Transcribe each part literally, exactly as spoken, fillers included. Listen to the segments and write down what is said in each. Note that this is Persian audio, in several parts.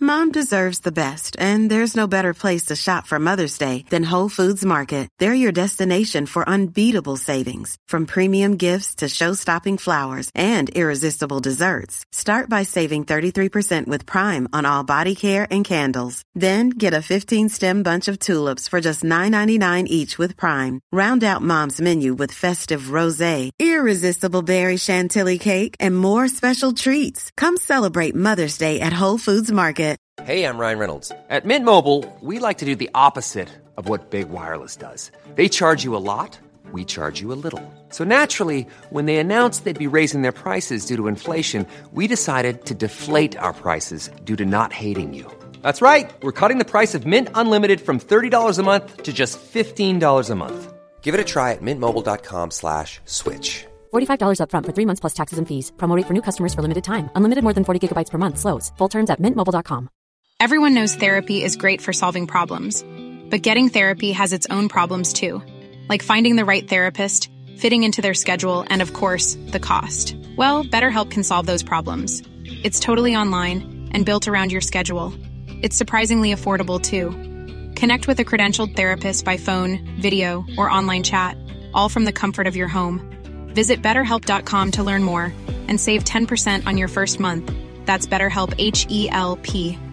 Mom deserves the best, and there's no better place to shop for Mother's Day than Whole Foods Market. They're your destination for unbeatable savings, from premium gifts to show-stopping flowers and irresistible desserts. Start by saving thirty-three percent with Prime on all body care and candles. Then get a fifteen-stem bunch of tulips for just nine ninety-nine each with Prime. Round out Mom's menu with festive rosé, irresistible berry chantilly cake, and more special treats. Come celebrate Mother's Day at Whole Foods Market. Hey, I'm Ryan Reynolds. At Mint Mobile, we like to do the opposite of what Big Wireless does. They charge you a lot, we charge you a little. So naturally, when they announced they'd be raising their prices due to inflation, we decided to deflate our prices due to not hating you. That's right. We're cutting the price of Mint Unlimited from thirty dollars a month to just fifteen dollars a month. Give it a try at mintmobile.com slash switch. forty-five dollars up front for three months plus taxes and fees. Promo rate for new customers for limited time. Unlimited more than forty gigabytes per month slows. Full terms at mint mobile dot com. Everyone knows therapy is great for solving problems. But getting therapy has its own problems too. Like finding the right therapist, fitting into their schedule, and of course, the cost. Well, BetterHelp can solve those problems. It's totally online and built around your schedule. It's surprisingly affordable too. Connect with a credentialed therapist by phone, video, or online chat, all from the comfort of your home. Visit better help dot com to learn more and save ten percent on your first month. That's BetterHelp, H E L P.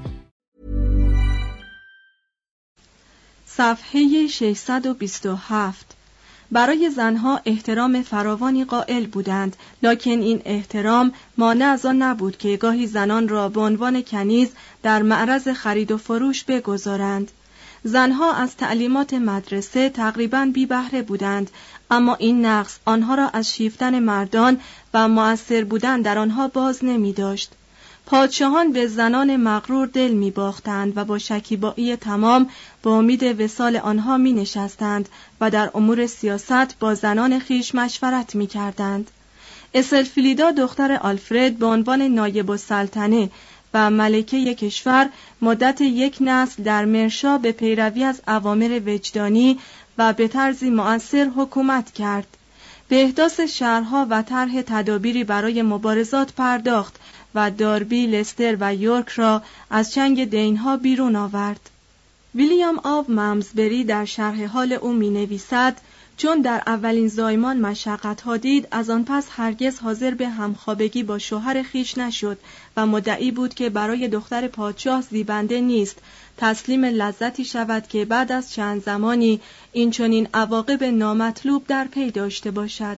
صفحه ششصد و بیست و هفت. برای زنها احترام فراوانی قائل بودند، لکن این احترام مانع از آن نبود که گاهی زنان را به عنوان کنیز در معرض خرید و فروش بگذارند. زنها از تعلیمات مدرسه تقریباً بی بهره بودند، اما این نقص آنها را از شیفتن مردان و مؤثر بودن در آنها باز نمی داشت. پادشاهان به زنان مغرور دل می باختند و با شکیبایی تمام با امید وصال آنها می نشستند و در امور سیاست با زنان خیش مشورت می کردند. اسلفیلیدا دختر آلفرد به عنوان نایب السلطنه و ملکه کشور مدت یک نسل در مرشا به پیروی از اوامر وجدانی و به طرزی مؤثر حکومت کرد. به احداث شهرها و طرح تدابیری برای مبارزات پرداخت و داربی، لستر و یورک را از چنگ دینها بیرون آورد. ویلیام آو ممزبری در شرح حال او می نویسد: چون در اولین زایمان مشقت‌ها دید، از آن پس هرگز حاضر به همخوابگی با شوهر خیش نشد و مدعی بود که برای دختر پادشاه زیبنده نیست، تسلیم لذتی شود که بعد از چند زمانی این چنین عواقب نامطلوب در پی داشته باشد.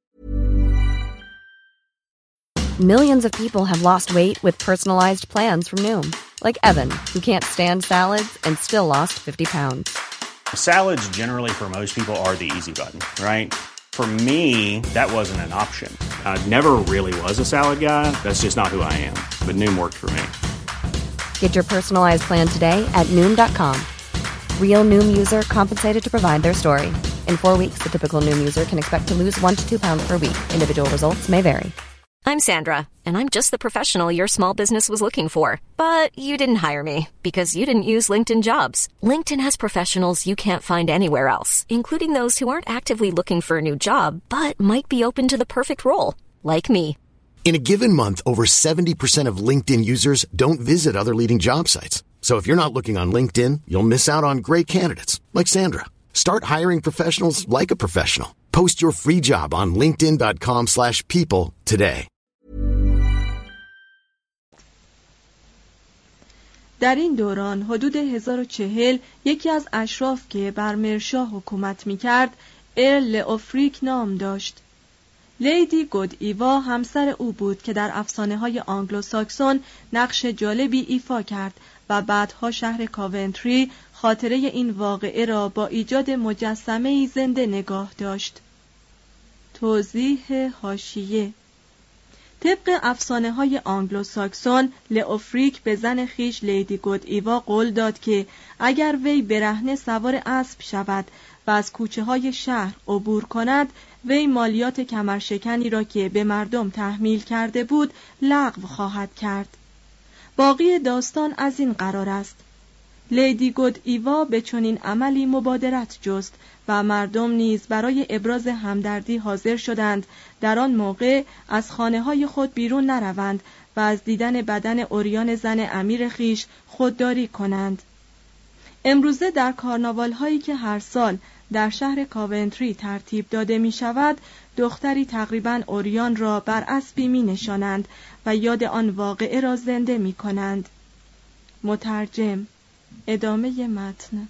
Millions of people have lost weight with personalized plans from Noom, like Evan, who can't stand salads and still lost fifty pounds. Salads generally for most people are the easy button, right? For me, that wasn't an option. I never really was a salad guy. That's just not who I am. But Noom worked for me. Get your personalized plan today at Noom dot com. Real Noom user compensated to provide their story. In four weeks, the typical Noom user can expect to lose one to two pounds per week. Individual results may vary. I'm Sandra, and I'm just the professional your small business was looking for. But you didn't hire me because you didn't use LinkedIn Jobs. LinkedIn has professionals you can't find anywhere else, including those who aren't actively looking for a new job, but might be open to the perfect role, like me. In a given month, over seventy percent of LinkedIn users don't visit other leading job sites. So if you're not looking on LinkedIn, you'll miss out on great candidates, like Sandra. Start hiring professionals like a professional. Post your free job on linkedin dot com slash people today. در این دوران حدود هزار و چهل یکی از اشراف که بر مرشا حکومت می‌کرد ارل لئوفریک نام داشت. لیدی گود ایوا همسر او بود که در افسانه‌های آنگلوساکسون نقش جالبی ایفا کرد و بعدها شهر کاونتری خاطره این واقعه را با ایجاد مجسمه‌ای زنده نگاه داشت. توضیح حاشیه: طبق افسانه‌های آنگلوساکسون، لئوفریک به زن خیش لیدی گود ایوا قول داد که اگر وی برهنه سوار اسب شود و از کوچه‌های شهر عبور کند، وی مالیات کمرشکنی را که به مردم تحمیل کرده بود لغو خواهد کرد. باقی داستان از این قرار است: لیدی گود ایوا به چنین عملی مبادرت جست و مردم نیز برای ابراز همدردی حاضر شدند در آن موقع از خانه‌های خود بیرون نروند و از دیدن بدن عریان زن امیر خیش خودداری کنند. امروزه در کارناوال هایی که هر سال در شهر کاونتری ترتیب داده می شود، دختری تقریباً عریان را بر اسبی می نشانند و یاد آن واقعه را زنده می کنند. مترجم. ادامه متن.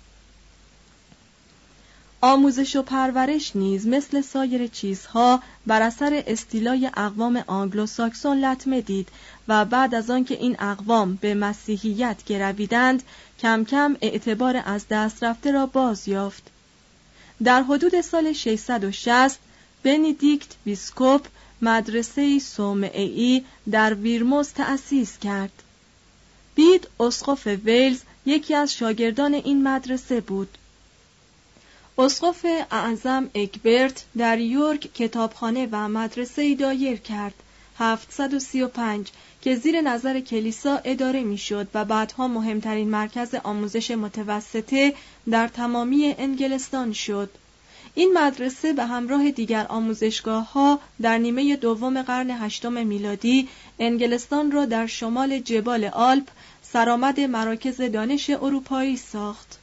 آموزش و پرورش نیز مثل سایر چیزها بر اثر استیلای اقوام آنگلو ساکسون لطمه دید و بعد از آن که این اقوام به مسیحیت گرویدند کم کم اعتبار از دست رفته را باز یافت. در حدود سال ششصد و شصت بندیکت بیسکوپ مدرسه صومعه‌ای در ویرموز تأسیس کرد. بید اسقف ویلز یکی از شاگردان این مدرسه بود. اسقف اعظم اگبرت در یورک کتابخانه و مدرسه‌ای دایر کرد، هفتصد و سی و پنج، که زیر نظر کلیسا اداره میشد و بعدها مهمترین مرکز آموزش متوسطه در تمامی انگلستان شد. این مدرسه به همراه دیگر آموزشگاه‌ها در نیمه دوم قرن هشتم میلادی انگلستان را در شمال جبال آلپ سرآمد مراکز دانش اروپایی ساخت.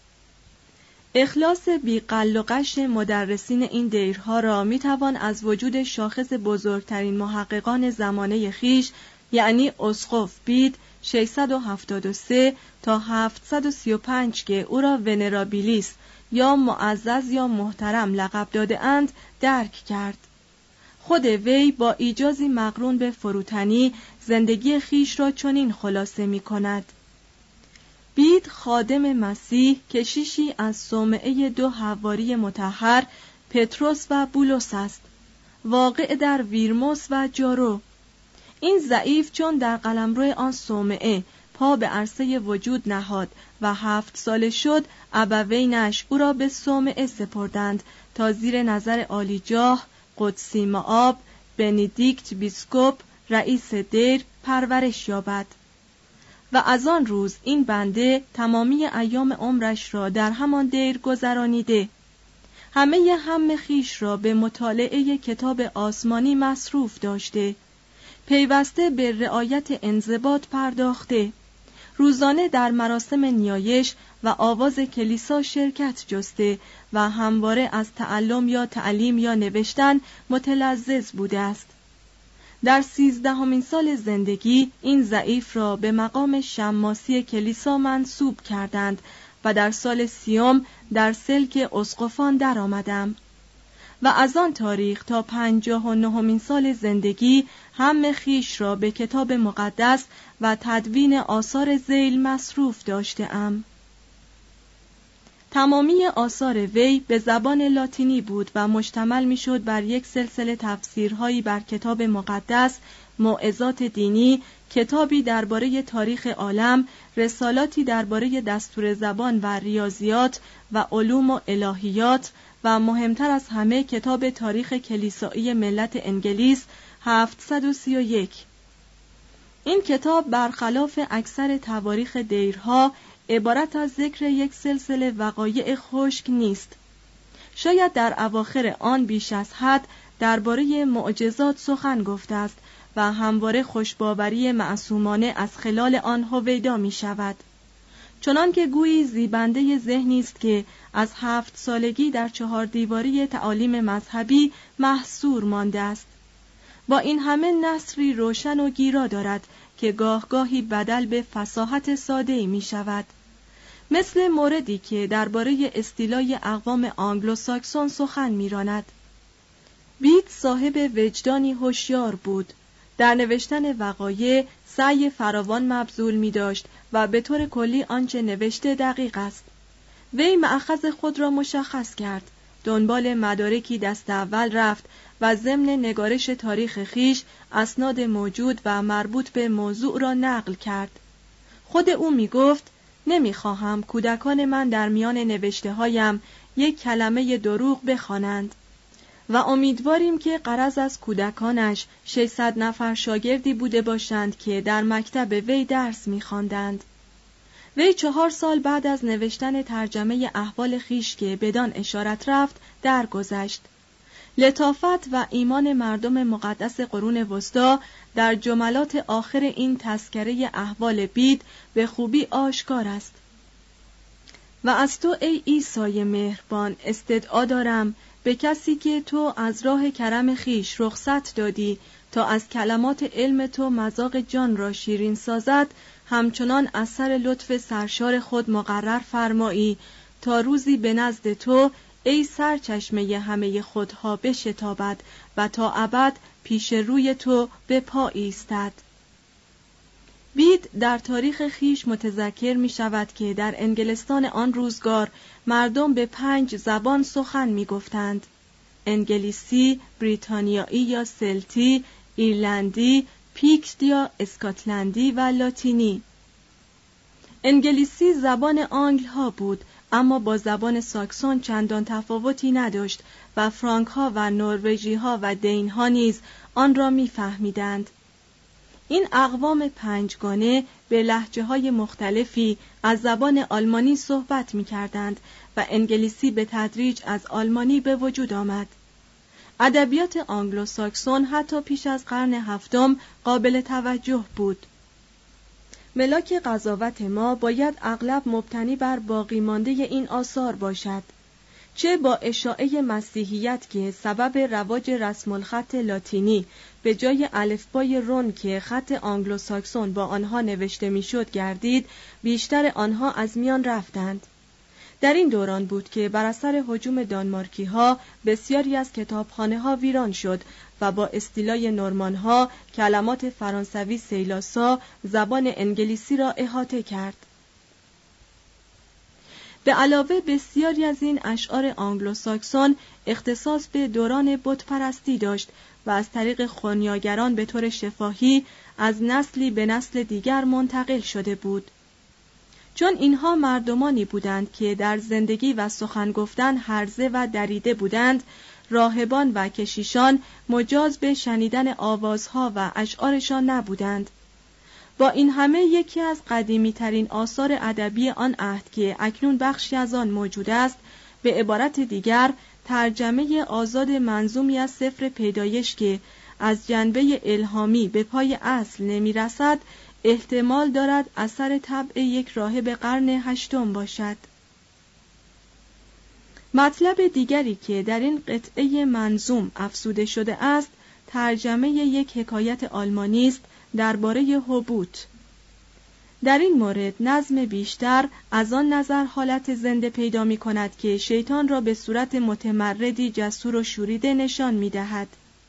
اخلاص بی‌غل و غش مدرسین این دیرها را میتوان از وجود شاخص بزرگترین محققان زمانه خیش، یعنی اسقف بید ششصد و هفتاد و سه تا هفتصد و سی و پنج که او را ونرابیلیس یا معزز یا محترم لقب داده اند درک کرد. خود وی با ایجازی مقرون به فروتنی زندگی خیش را چنین خلاصه می کند: بید خادم مسیح کشیشی از صومعه دو حواری مطهر پتروس و بولس است، واقع در ویرموس و جارو. این ضعیف چون در قلمرو آن صومعه پا به عرصه وجود نهاد و هفت ساله شد، ابوینش او را به صومعه سپردند تا زیر نظر عالیجاه قدسی مآب بندیکت بیسکوپ رئیس دیر پرورش یابد. و از آن روز این بنده تمامی ایام عمرش را در همان دیر گذرانیده، همه هم خیش را به مطالعه کتاب آسمانی مصروف داشته، پیوسته به رعایت انضباط پرداخته، روزانه در مراسم نیایش و آواز کلیسا شرکت جسته و همواره از تعلم یا تعلیم یا نوشتن متلذذ بوده است. در سیزدهمین سال زندگی این ضعیف را به مقام شماسی کلیسا منصوب کردند و در سال سیوم در سلک اسقفان درآمدم و از آن تاریخ تا پنجاه و نهمین سال زندگی هم خیش را به کتاب مقدس و تدوین آثار ذیل مصروف داشته‌ام. تمامی آثار وی به زبان لاتینی بود و مشتمل می‌شد بر یک سلسله تفسیرهایی بر کتاب مقدس، موعظات دینی، کتابی درباره تاریخ عالم، رسالاتی درباره دستور زبان و ریاضیات و علوم و الهیات و مهمتر از همه کتاب تاریخ کلیسایی ملت انگلیس هفتصد و سی و یک. این کتاب برخلاف اکثر تواریخ دیرها عبارت از ذکر یک سلسله وقایع خشک نیست. شاید در اواخر آن بیش از حد درباره معجزات سخن گفته است و همواره خوشباوری معصومانه از خلال آن هویدا می شود، چنان که گویی زیبنده ذهنی است که از هفت سالگی در چهار دیواری تعالیم مذهبی محصور مانده است. با این همه نثری روشن و گیرا دارد که گاه گاهی بدل به فصاحت ساده‌ای می شود، مثل موردی که درباره استیلای اقوام آنگلو ساکسون سخن می راند. بید صاحب وجدانی هوشیار بود، در نوشتن وقایع سعی فراوان مبذول می داشت و به طور کلی آنچه نوشته دقیق است. وی مأخذ خود را مشخص کرد، دنبال مدارکی دست اول رفت و ضمن نگارش تاریخ خیش اسناد موجود و مربوط به موضوع را نقل کرد. خود او می گفت: نمی خواهم کودکان من در میان نوشته هایم یک کلمه دروغ بخوانند و امیدواریم که غرض از کودکانش ششصد نفر شاگردی بوده باشند که در مکتب وی درس می خواندند. وی چهار سال بعد از نوشتن ترجمه احوال خویش که بدان اشارت رفت درگذشت. لطافت و ایمان مردم مقدس قرون وسطی در جملات آخر این تذکره احوال بید به خوبی آشکار است. و از تو ای عیسی مهربان استدعا دارم به کسی که تو از راه کرم خویش رخصت دادی تا از کلمات علم تو مذاق جان را شیرین سازد، همچنان اثر لطف سرشار خود مقرر فرمایی تا روزی به نزد تو ای سرچشمه همه خودها بشتابد و تا ابد پیش روی تو به پا ایستد. بید در تاریخ خیش متذکر می شود که در انگلستان آن روزگار مردم به پنج زبان سخن می گفتند: انگلیسی، بریتانیایی یا سلتی، ایرلندی، پیکت یا اسکاتلندی و لاتینی. انگلیسی زبان آنگل ها بود، اما با زبان ساکسون چندان تفاوتی نداشت و فرانک ها و نروژی ها و دین ها نیز آن را می فهمیدند. این اقوام پنجگانه به لهجه های مختلفی از زبان آلمانی صحبت می کردند و انگلیسی به تدریج از آلمانی به وجود آمد. ادبیات آنگلو ساکسون حتی پیش از قرن هفتم قابل توجه بود. ملاک قضاوت ما باید اغلب مبتنی بر باقی مانده این آثار باشد، چه با اشاعه مسیحیت که سبب رواج رسم الخط لاتینی به جای الفبای رون که خط آنگلو ساکسون با آنها نوشته میشد گردید، بیشتر آنها از میان رفتند. در این دوران بود که بر اثر هجوم دانمارکی ها بسیاری از کتابخانه ها ویران شد و با استیلای نورمان ها کلمات فرانسوی سیلاسا زبان انگلیسی را احاطه کرد. به علاوه بسیاری از این اشعار آنگلو ساکسون اختصاص به دوران بت پرستی داشت و از طریق خونیاگران به طور شفاهی از نسلی به نسل دیگر منتقل شده بود. چون اینها مردمانی بودند که در زندگی و سخن گفتن هرزه و دریده بودند، راهبان و کشیشان مجاز به شنیدن آوازها و اشعارشان نبودند. با این همه یکی از قدیمی ترین آثار ادبی آن عهد که اکنون بخشی از آن موجود است، به عبارت دیگر ترجمه آزاد منظومی از سفر پیدایش که از جنبه الهامی به پای اصل نمی رسد، احتمال دارد اثر طبع یک راهب قرن هشتم باشد. مطلب دیگری که در این قطعه منظوم افزوده شده است، ترجمه یک حکایت آلمانی است درباره هوبوت. در این مورد نظم بیشتر از آن نظر حالت زنده پیدا می کند که شیطان را به صورت متمردی جسور و شوریده نشان می دهد.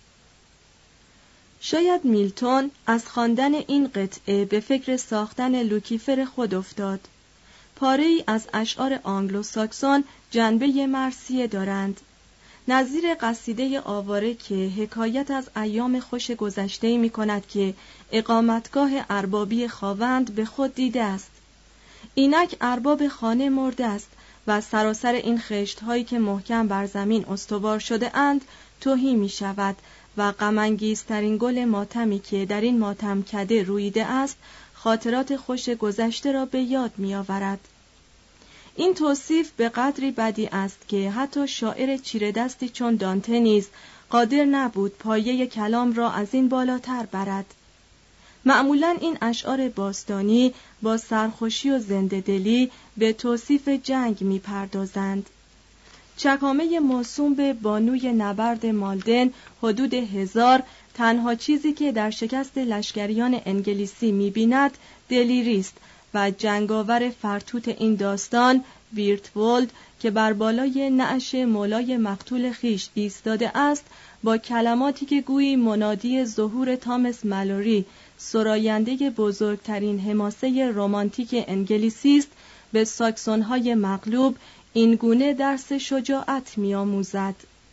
شاید میلتون از خواندن این قطعه به فکر ساختن لوکیفر خود افتاد. پاره‌ای از اشعار آنگلو ساکسون جنبه مرثیه دارند، نظیر قصیده آواره که حکایت از ایام خوش گذشته می کند که اقامتگاه اربابی خاوند به خود دیده است. اینک ارباب خانه مرده است و سراسر این خشت‌هایی که محکم بر زمین استوار شده اند تهی می شود و غم‌انگیزترین گل ماتمی که در این ماتم کده رویده است خاطرات خوش گذشته را به یاد می آورد. این توصیف به قدری بدی است که حتی شاعر چیره دستی چون دانته نیز قادر نبود پایه کلام را از این بالاتر برد. معمولاً این اشعار باستانی با سرخوشی و زنده دلی به توصیف جنگ می پردازند. چکامه موسوم به بانوی نبرد مالدن حدود هزار، تنها چیزی که در شکست لشکریان انگلیسی می بیند دلیری است و جنگاور فرتوت این داستان ویرتولد که بر بالای نعش مولای مقتول خیش ایستاده است، با کلماتی که گویی منادی ظهور تامس مالوری، سراینده بزرگترین حماسه رمانتیک انگلیسی است، به ساکسون‌های مغلوب این گونه درس شجاعت می‌آموزد.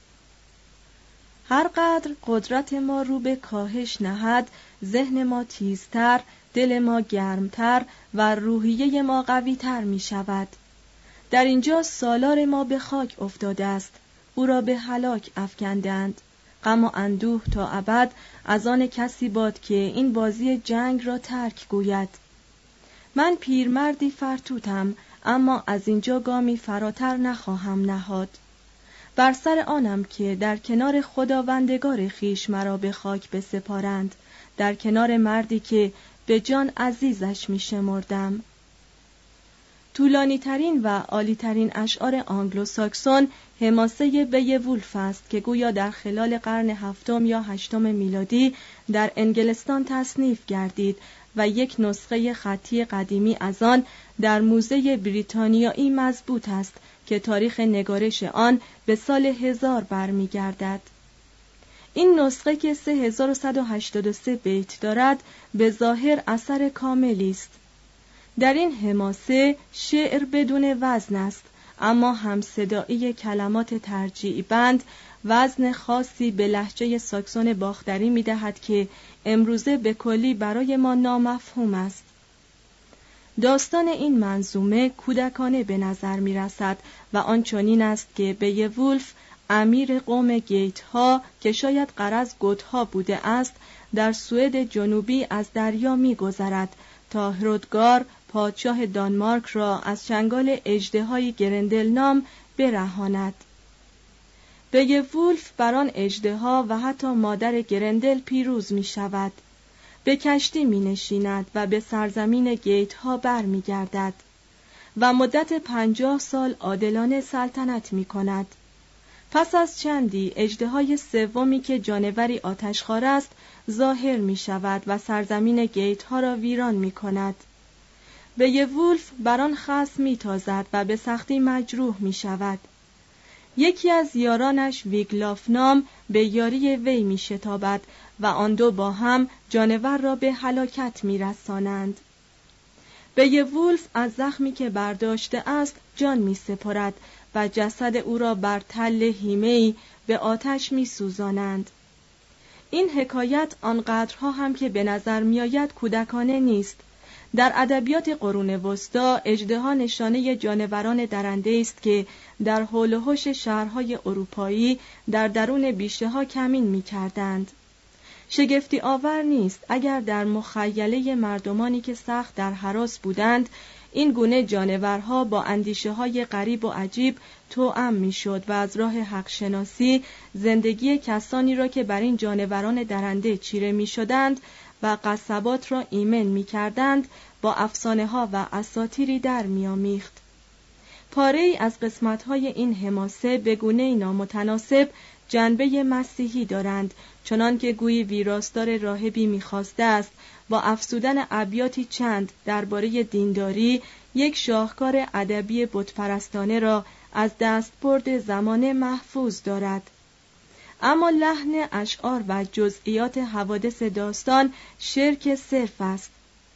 هر قدر قدرت ما رو به کاهش نهد، ذهن ما تیزتر، دل ما گرمتر و روحیه ما قویتر می شود. در اینجا سالار ما به خاک افتاده است، او را به هلاک افکندند. غم و اندوه تا ابد از آن کسی باد که این بازی جنگ را ترک گوید. من پیرمردی فرتوتم، اما از اینجا گامی فراتر نخواهم نهاد. بر سر آنم که در کنار خداوندگار خیش مرا به خاک بسپارند، در کنار مردی که به جان عزیزش می شمردم. طولانی ترین و عالی ترین اشعار آنگلو ساکسون حماسه بیوولف است که گویا در خلال قرن هفتم یا هشتم میلادی در انگلستان تصنیف گردید و یک نسخه خطی قدیمی از آن در موزه بریتانیایی مضبوط است که تاریخ نگارش آن به سال هزار برمیگردد. این نسخه که سه هزار و صد و هشتاد و سه بیت دارد به ظاهر اثر کاملی است. در این حماسه شعر بدون وزن است، اما همصدایی کلمات ترجیع بند وزن خاصی به لهجه ساکسون باختری می دهد که امروزه به کلی برای ما نامفهوم است. داستان این منظومه کودکانه به نظر می رسد و آن چنین است که بیوولف امیر قوم گیت ها که شاید غرض گوتها بوده است در سوئد جنوبی از دریا می گذرد تا هرودگار پادشاه دانمارک را از چنگال اژدهای گرندل نام برهاند. بیوولف بر آن اژدها و حتی مادر گرندل پیروز می شود. به کشتی می نشیند و به سرزمین گیت ها بر می گردد و مدت پنجاه سال عادلانه سلطنت می کند. پس از چندی اژدهای سومی که جانوری آتشخوار است ظاهر می شود و سرزمین گیت ها را ویران می کند. بیوولف بر آن خصم می تازد و به سختی مجروح می شود. یکی از یارانش ویگلاف نام به یاری وی می شتابد و آن دو با هم جانور را به هلاکت می رسانند. بیوولف از زخمی که برداشته است جان می سپرد و جسد او را بر تل هیمه‌ای به آتش می سوزانند. این حکایت آنقدرها هم که به نظر می آید کودکانه نیست. در ادبیات قرون وسطی اژدها نشانه جانوران درنده است که در حول و حوش شهرهای اروپایی در درون بیشه ها کمین می کردند. شگفتی آور نیست اگر در مخیله مردمانی که سخت در هراس بودند این گونه جانورها با اندیشه های غریب و عجیب توأم می شد و از راه حق شناسی زندگی کسانی را که بر این جانوران درنده چیره می شدند و قصبات را ایمن می کردند با افسانه ها و اساطیری در می آمیخت. پاره ای از قسمت های این حماسه به گونه نامتناسب جنبه مسیحی دارند، چنان که گویی ویراستار راهبی می خواسته است با افسودن ابیاتی چند درباره دینداری یک شاهکار ادبی بتپرستانه را از دستبرد زمانه محفوظ دارد. اما لحن اشعار و جزئیات حوادث داستان شرک صرف است.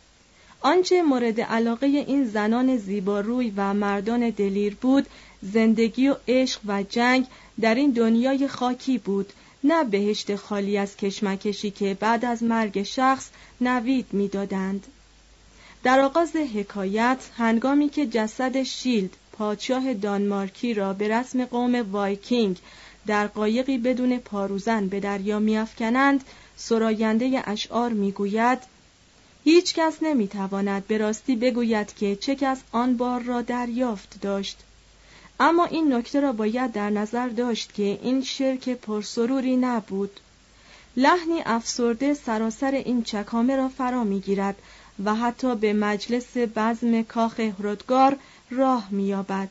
آنچه مورد علاقه این زنان زیباروی و مردان دلیر بود زندگی و عشق و جنگ در این دنیای خاکی بود، نه بهشت خالی از کشمکشی که بعد از مرگ شخص نوید می‌دادند. در آغاز حکایت هنگامی که جسد شیلد پادشاه دانمارکی را به رسم قوم وایکینگ در قایقی بدون پاروزن به دریا می‌افکنند، سراینده اشعار می‌گوید: هیچ کس نمی‌تواند به راستی بگوید که چه کس آن بار را دریافت داشت. اما این نکته را باید در نظر داشت که این شرک پرسروری نبود. لحنی افسرده سراسر این چکامه را فرا می‌گیرد و حتی به مجلس بزم کاخ هرودگار راه می‌یابد.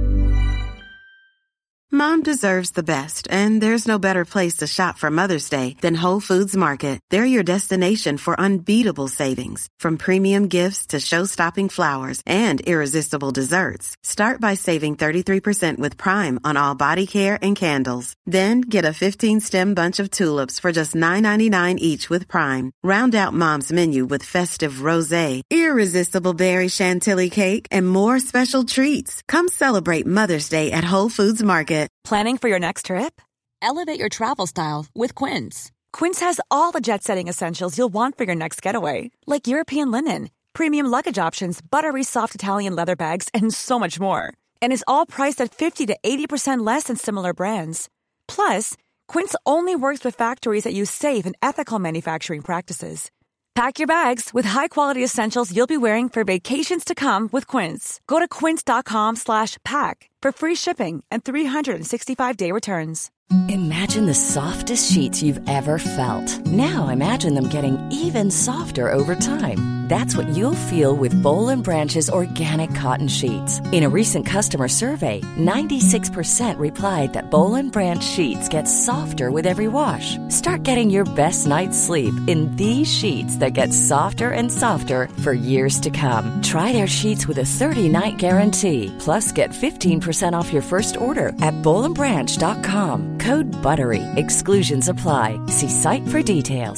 Mom deserves the best, and there's no better place to shop for Mother's Day than Whole Foods Market. They're your destination for unbeatable savings, from premium gifts to show-stopping flowers and irresistible desserts. Start by saving thirty-three percent with Prime on all body care and candles. Then get a fifteen-stem bunch of tulips for just nine ninety-nine each with Prime. Round out Mom's menu with festive rosé, irresistible berry chantilly cake, and more special treats. Come celebrate Mother's Day at Whole Foods Market. Planning for your next trip? Elevate your travel style with Quince. Quince has all the jet-setting essentials you'll want for your next getaway, like European linen, premium luggage options, buttery soft Italian leather bags, and so much more. And is all priced at fifty to eighty percent less than similar brands. Plus, Quince only works with factories that use safe and ethical manufacturing practices. Pack your bags with high-quality essentials you'll be wearing for vacations to come with Quince. Go to quince.com slash pack for free shipping and three sixty-five day returns. Imagine the softest sheets you've ever felt. Now imagine them getting even softer over time. That's what you'll feel with Boll and Branch's organic cotton sheets. In a recent customer survey, ninety-six percent replied that Boll and Branch sheets get softer with every wash. Start getting your best night's sleep in these sheets that get softer and softer for years to come. Try their sheets with a thirty-night guarantee. Plus, get fifteen percent off your first order at boll and branch dot com. Code BUTTERY. Exclusions apply. See site for details.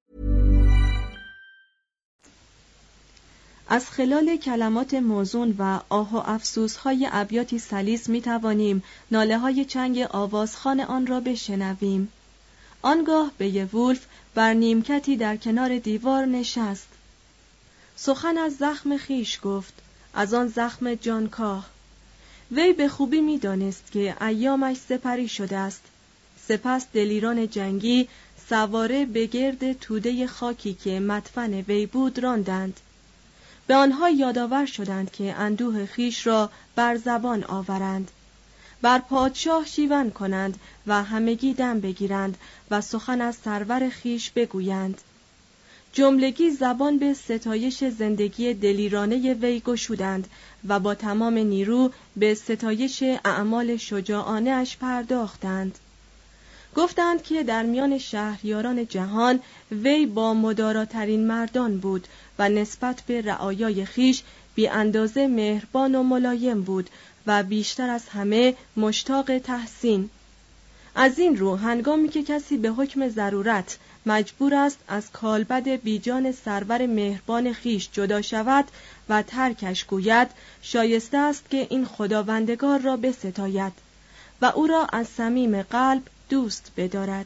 از خلال کلمات موزون و آه و افسوس‌های ابیاتی سلیس می‌توانیم ناله‌های چنگ آوازخوان آن را بشنویم. آنگاه بیوولف بر نیمکتی در کنار دیوار نشست. سخن از زخم خیش گفت، از آن زخم جانکاه. وی به خوبی می‌دانست که ایامش سپری شده است. سپس دلیران جنگی سواره به گرد توده خاکی که مدفن وی بود راندند. به آنها یادآور شدند که اندوه خیش را بر زبان آورند، بر پادشاه شیون کنند و همگی دم بگیرند و سخن از سرور خیش بگویند. جملگی زبان به ستایش زندگی دلیرانه وی گشودند و با تمام نیرو به ستایش اعمال شجاعانه اش پرداختند. گفتند که در میان شهریاران جهان وی با مداراترین مردان بود و نسبت به رعایای خیش بی اندازه مهربان و ملایم بود و بیشتر از همه مشتاق تحسین. از این رو هنگامی که کسی به حکم ضرورت مجبور است از کالبد بیجان سرور مهربان خیش جدا شود و ترکش گوید، شایسته است که این خداوندگار را بستاید و او را از صمیم قلب دوست بدارد.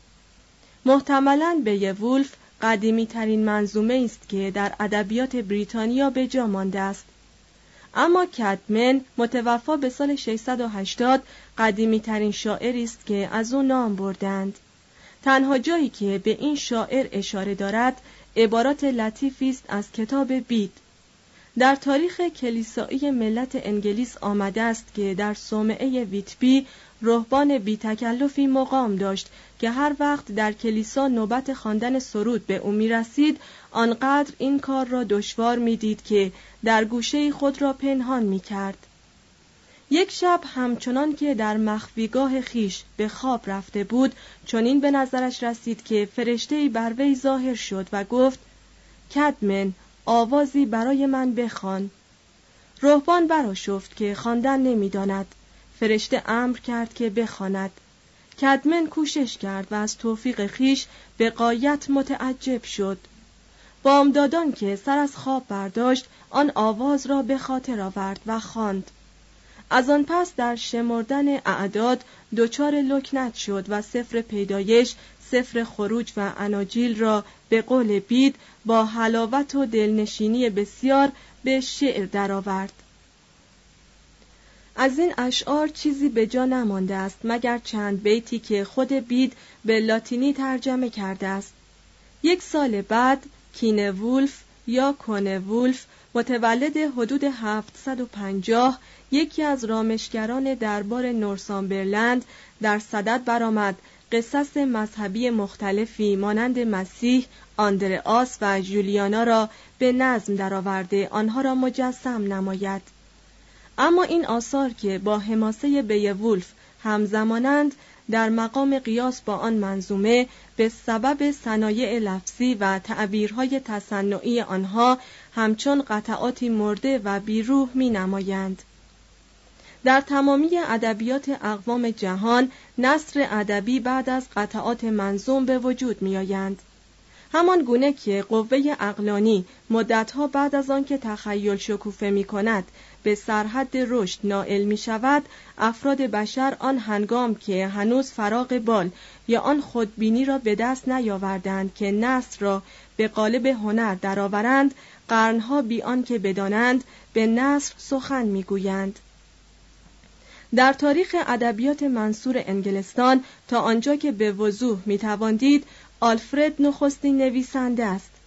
محتملاً بیوولف قدیمی ترین منظومه است که در ادبیات بریتانیا به جا مانده است. اما کدمن متوفا به سال ششصد و هشتاد قدیمی ترین شاعری است که از او نام بردند. تنها جایی که به این شاعر اشاره دارد عبارات لطیفی است از کتاب بید. در تاریخ کلیسایی ملت انگلیس آمده است که در صومعه ویتبی رهبان بی تکلفی مقام داشت که هر وقت در کلیسا نوبت خواندن سرود به او می رسید، آنقدر این کار را دشوار می دید که در گوشه خود را پنهان می کرد. یک شب همچنان که در مخفیگاه خیش به خواب رفته بود، چنین به نظرش رسید که فرشته‌ای بر وی ظاهر شد و گفت: کدمن، آوازی برای من بخوان. رهبان برآشفت که خواندن نمی‌داند. فرشته امر کرد که بخواند. کدمن کوشش کرد و از توفیق خیش به غایت متعجب شد. بامدادان که سر از خواب برداشت، آن آواز را به خاطر آورد و خواند. از آن پس در شمردن اعداد دچار لکنت شد و سفر پیدایش، سفر خروج و اناجیل را به قول بید با حلاوت و دلنشینی بسیار به شعر درآورد. از این اشعار چیزی به جا نمانده است مگر چند بیتی که خود بید به لاتینی ترجمه کرده است. یک سال بعد کینوولف یا کونوولف متولد حدود هفتصد و پنجاه، یکی از رامشگران دربار نورسامبرلند، در صدد برآمد قصص مذهبی مختلفی مانند مسیح، آندرئاس و جولیانا را به نظم درآورده آنها را مجسم نماید. اما این آثار که با حماسه بیوولف همزمانند، در مقام قیاس با آن منظومه به سبب صنایع لفظی و تعبیرهای تصنعی آنها همچون قطعاتی مرده و بیروح می نمایند. در تمامی ادبیات اقوام جهان نثر ادبی بعد از قطعات منظوم به وجود می آیند. همان گونه که قوه عقلانی مدتها بعد از آن که تخیل شکوفه می کند به سرحد رشد نائل می شود، افراد بشر آن هنگام که هنوز فراغ بال یا آن خودبینی را به دست نیاوردند که نثر را به قالب هنر درآورند، قرنها بی آن که بدانند به نثر سخن می گویند. در تاریخ ادبیات منصور انگلستان تا آنجا که به وضوح می توان دید، آلفرد نخستین نویسنده است.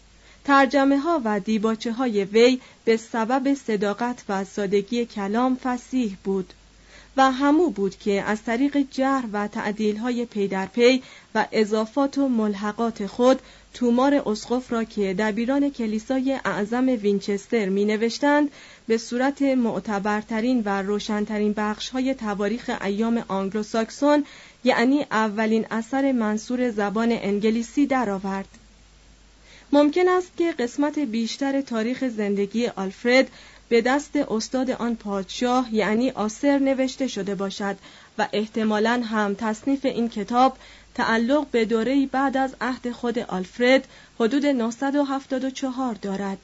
ترجمه ها و دیباچه های وی به سبب صداقت و سادگی کلام فصیح بود و همو بود که از طریق جرح و تعدیل های پی در پی و اضافات و ملحقات خود تومار اسقف را که دبیران کلیسای اعظم وینچستر می نوشتند به صورت معتبرترین و روشنترین بخش های تواریخ ایام آنگلوساکسون، یعنی اولین اثر منصور زبان انگلیسی درآورد. ممکن است که قسمت بیشتر تاریخ زندگی آلفرد به دست استاد آن پادشاه یعنی آسر نوشته شده باشد و احتمالاً هم تصنیف این کتاب تعلق به دوره‌ای بعد از عهد خود آلفرد حدود نهصد و هفتاد و چهار دارد.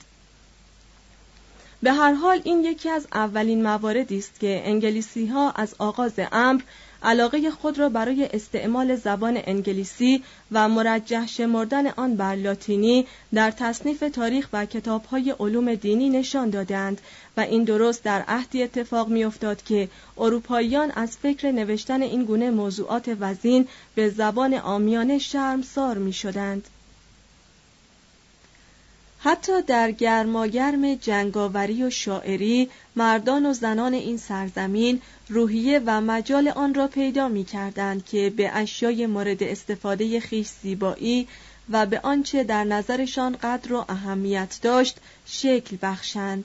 به هر حال این یکی از اولین مواردی است که انگلیسی‌ها از آغاز امر علاقه خود را برای استعمال زبان انگلیسی و مرجح شمردن آن بر لاتینی در تصنیف تاریخ و کتاب‌های علوم دینی نشان دادند و این درست در عهدی اتفاق می‌افتاد که اروپاییان از فکر نوشتن این گونه موضوعات وزین به زبان عامیانه شرمسار می‌شدند. حتی در گرماگرم جنگاوری و شاعری مردان و زنان این سرزمین روحیه و مجال آن را پیدا می کردند که به اشیای مورد استفاده خویش زیبایی و به آنچه در نظرشان قدر و اهمیت داشت شکل بخشند.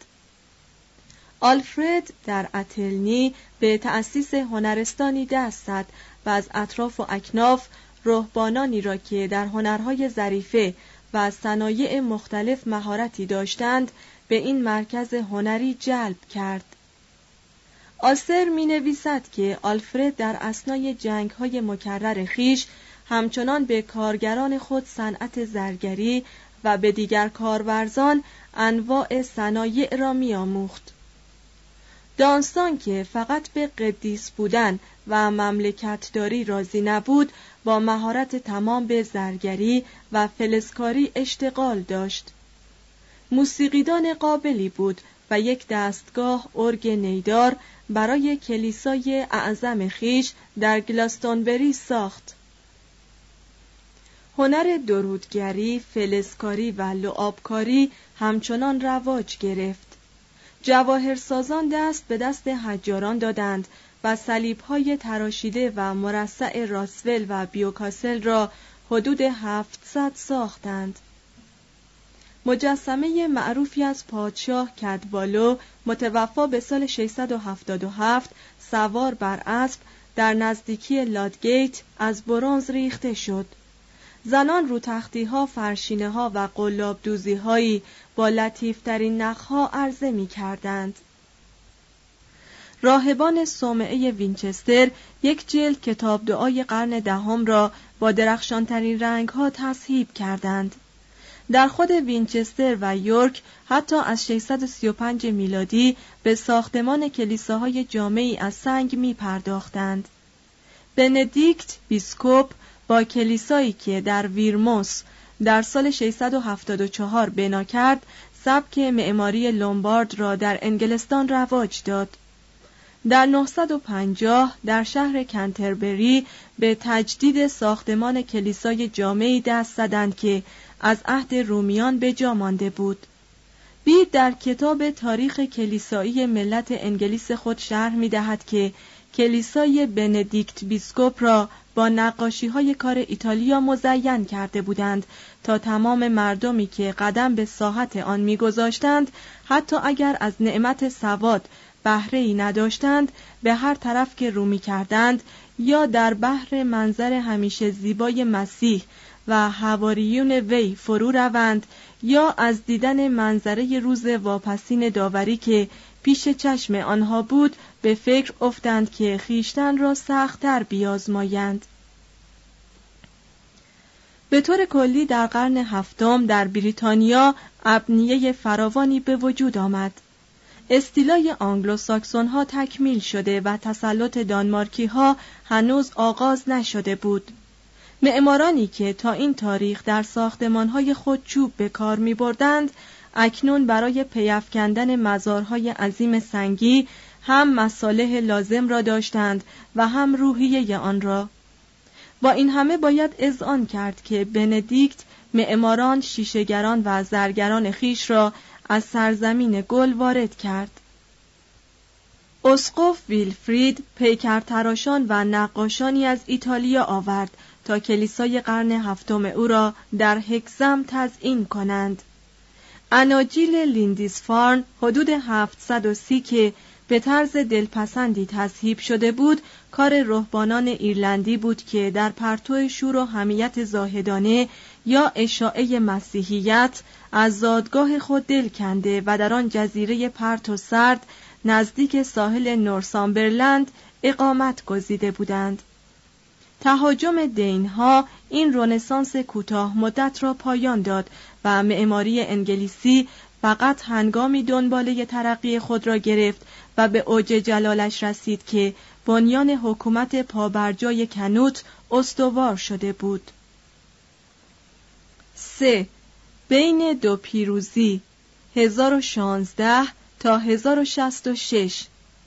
آلفرد در اتلنی به تأسیس هنرستانی دست زد و از اطراف و اکناف رهبانانی را که در هنرهای ظریفه و صنایع مختلف مهارتی داشتند به این مرکز هنری جلب کرد. آسر می نویسد که آلفرد در اثنای جنگ‌های مکرر خیش همچنان به کارگران خود صنعت زرگری و به دیگر کارورزان انواع صنایع را می آموخت. دانستان که فقط به قدیس بودن و مملکتداری راضی نبود، با مهارت تمام به زرگری و فلزکاری اشتغال داشت. موسیقیدان قابلی بود و یک دستگاه ارگ نیدار برای کلیسای اعظم خیش در گلاستونبری ساخت. هنر درودگری، فلزکاری و لعابکاری همچنان رواج گرفت. جواهرسازان دست به دست حجاران دادند و صلیب‌های تراشیده و مرصع راسول و بیوکاسل را حدود هفتصد ساختند. مجسمه معروفی از پادشاه کدوالو متوفا به سال ششصد و هفتاد و هفت سوار بر اسب در نزدیکی لادگیت از برنز ریخته شد. زنان رو تختی‌ها، فرشینه‌ها و قلاب دوزی‌هایی با لطیف‌ترین نخ‌ها عرضه می‌کردند. راهبان صومعه وینچستر یک جلد کتاب دعای قرن دهم را با درخشانترین رنگ‌ها تصحیح کردند. در خود وینچستر و یورک حتی از ششصد و سی و پنج میلادی به ساختمان کلیساهای جامعی از سنگ می پرداختند. بندیکت بیسکوپ با کلیسایی که در ویرموس در سال ششصد و هفتاد و چهار بنا کرد، سبک معماری لومبارد را در انگلستان رواج داد. در نهصد و پنجاه در شهر کنتربری به تجدید ساختمان کلیسای جامعی دست زدند که از عهد رومیان به جا مانده بود. بید در کتاب تاریخ کلیسایی ملت انگلیس خود شرح می دهد که کلیسای بندیکت بیسکوپ را با نقاشی‌های کار ایتالیا مزین کرده بودند تا تمام مردمی که قدم به ساحت آن می‌گذاشتند، حتی اگر از نعمت سواد بهره‌ای نداشتند، به هر طرف که رو می‌کردند یا در بحر منظر همیشه زیبای مسیح و حواریون وی فرو روند یا از دیدن منظره روز واپسین داوری که پیش چشم آنها بود به فکر افتند که خیشتن را سخت‌تر بیازمایند. به طور کلی در قرن هفتم در بریتانیا ابنیه فراوانی به وجود آمد. استیلای آنگلو ساکسون ها تکمیل شده و تسلط دانمارکی ها هنوز آغاز نشده بود. معمارانی که تا این تاریخ در ساختمان های خود چوب به کار می بردند، اکنون برای پیافکندن مزارهای عظیم سنگی هم مصالح لازم را داشتند و هم روحیه آن را. با این همه باید اذعان کرد که بندیکت معماران، شیشه‌گران و زرگران خیش را از سرزمین گل وارد کرد. اسقف ویلفرید پیکرتراشان و نقاشانی از ایتالیا آورد تا کلیسای قرن هفتم او را در هکسم تزیین کنند. اناجیل لیندیسفارن حدود هفتصد و سی که به طرز دلپسندی تصحیح شده بود، کار رهبانان ایرلندی بود که در پرتو شور و حمیت زاهدانه یا اشاعه مسیحیت از زادگاه خود دل کنده و در آن جزیره پرت و سرد نزدیک ساحل نورسامبرلند اقامت گزیده بودند. تهاجم دینها این رنسانس کوتاه مدت را پایان داد و معماری انگلیسی فقط هنگامی دنباله ترقی خود را گرفت و به اوج جلالش رسید که بنیان حکومت پابرجای کنوت استوار شده بود. سه. بین دو پیروزی هزار و شانزده تا هزار و شصت و شش.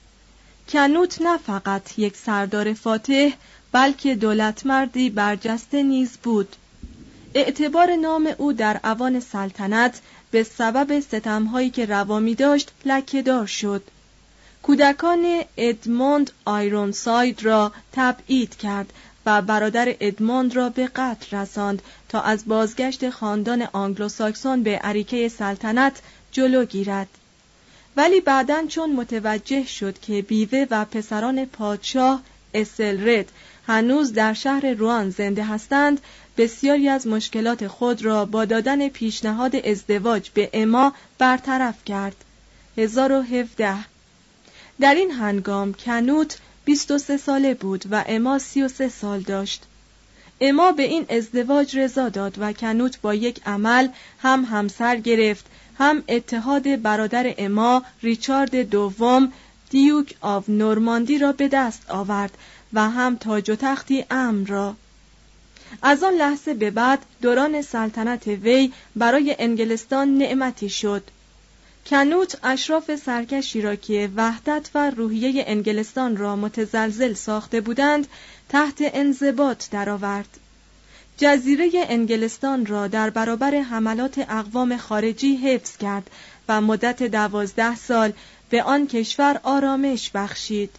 کنوت نه فقط یک سردار فاتح بلکه دولتمردی برجسته نیز بود. اعتبار نام او در اوان سلطنت به سبب ستم‌هایی که روا می داشت لکه‌دار شد. کودکان ادموند آیرونساید را تبعید کرد و برادر ادموند را به قتل رساند تا از بازگشت خاندان آنگلوساکسون به اریکه سلطنت جلو گیرد. ولی بعداً چون متوجه شد که بیوه و پسران پادشاه اسلرد هنوز در شهر روان زنده هستند، بسیاری از مشکلات خود را با دادن پیشنهاد ازدواج به اما برطرف کرد. هزار و هفده. در این هنگام کنوت بیست و سه ساله بود و اما سی و سه سال داشت. اما به این ازدواج رضا داد و کنوت با یک عمل هم همسر گرفت، هم اتحاد برادر اما ریچارد دوم دیوک آف نورماندی را به دست آورد و هم تاج و تختی امن را. از آن لحظه به بعد دوران سلطنت وی برای انگلستان نعمتی شد. کنوت اشراف سرکشی را که وحدت و روحیه انگلستان را متزلزل ساخته بودند تحت انضباط درآورد. جزیره انگلستان را در برابر حملات اقوام خارجی حفظ کرد و مدت دوازده سال به آن کشور آرامش بخشید.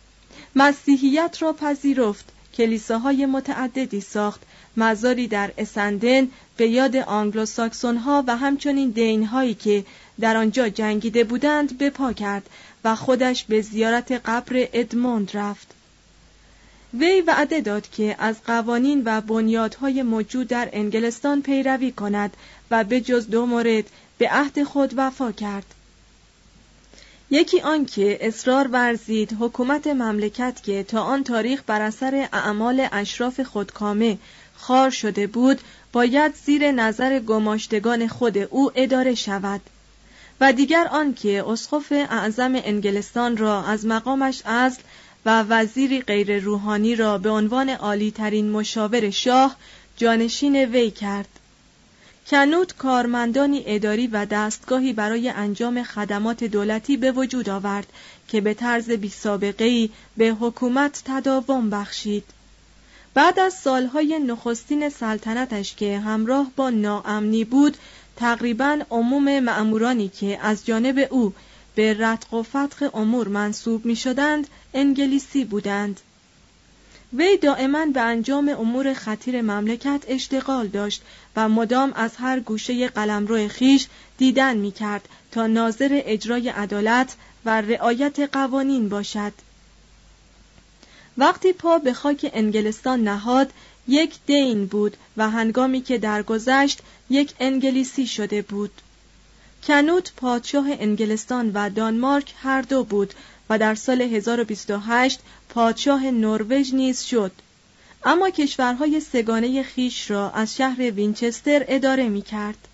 مسیحیت را پذیرفت، کلیساهای متعددی ساخت، مزاری در اسندن به یاد آنگلوساکسون ها و همچنین دین هایی که در آنجا جنگیده بودند به پا کرد و خودش به زیارت قبر ادموند رفت. وی وعده داد که از قوانین و بنیادهای موجود در انگلستان پیروی کند و به جز دو مورد به عهد خود وفا کرد. یکی آن که اصرار ورزید حکومت مملکت که تا آن تاریخ بر اثر اعمال اشراف خودکامه خوار شده بود باید زیر نظر گماشتگان خود او اداره شود، و دیگر آن که اسقف اعظم انگلستان را از مقامش عزل و وزیری غیر روحانی را به عنوان عالی ترین مشاور شاه جانشین وی کرد. کنوت کارمندانی اداری و دستگاهی برای انجام خدمات دولتی به وجود آورد که به طرز بی سابقه‌ای به حکومت تداوم بخشید. بعد از سالهای نخستین سلطنتش که همراه با ناامنی بود، تقریباً عموم مأمورانی که از جانب او به رتق و فتق امور منصوب می شدند انگلیسی بودند. وی دائما به انجام امور خطیر مملکت اشتغال داشت و مدام از هر گوشه قلمرو خیش دیدن می کرد تا ناظر اجرای عدالت و رعایت قوانین باشد. وقتی پا به خاک انگلستان نهاد یک دین بود و هنگامی که درگذشت یک انگلیسی شده بود. کنوت پادشاه انگلستان و دانمارک هر دو بود و در سال هزار و بیست و هشت پادشاه نروژ نیز شد، اما کشورهای سگانه خیش را از شهر وینچستر اداره می کرد.